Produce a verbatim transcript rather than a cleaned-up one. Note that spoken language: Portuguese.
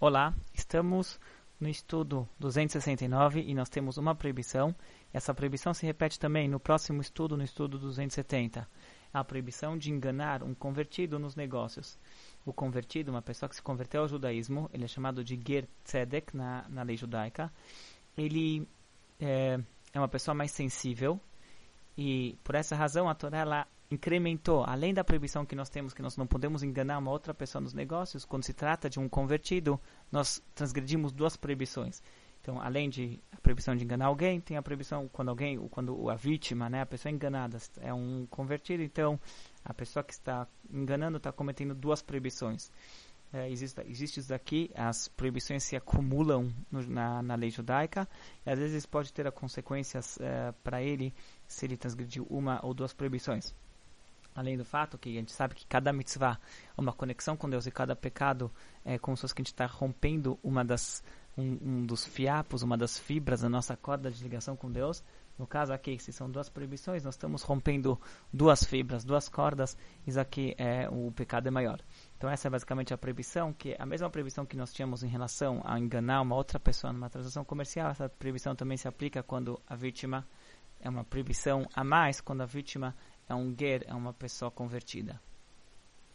Olá, estamos no estudo duzentos e sessenta e nove e nós temos uma proibição. Essa proibição se repete também no próximo estudo, no estudo duzentos e setenta. A proibição de enganar um convertido nos negócios. O convertido, uma pessoa que se converteu ao judaísmo, ele é chamado de Ger Tzedek na, na lei judaica. Ele é, é uma pessoa mais sensível e por essa razão a Torá ela incrementou, além da proibição que nós temos, que nós não podemos enganar uma outra pessoa nos negócios, quando se trata de um convertido, nós transgredimos duas proibições. Então, além de a proibição de enganar alguém, tem a proibição quando alguém, quando a vítima, né, a pessoa enganada é um convertido, então a pessoa que está enganando está cometendo duas proibições. É, existe, existe isso daqui, as proibições se acumulam no, na, na lei judaica, e às vezes pode ter consequências é, para ele se ele transgrediu uma ou duas proibições. Além do fato que a gente sabe que cada mitzvah é uma conexão com Deus e cada pecado é como se fosse que a gente está rompendo uma das, um, um dos fiapos, uma das fibras da nossa corda de ligação com Deus. No caso aqui, se são duas proibições, nós estamos rompendo duas fibras, duas cordas, isso aqui é o pecado é maior. Então essa é basicamente a proibição, que é a mesma proibição que nós tínhamos em relação a enganar uma outra pessoa numa transação comercial. Essa proibição também se aplica quando a vítima é uma proibição a mais, quando a vítima é um ger, é uma pessoa convertida.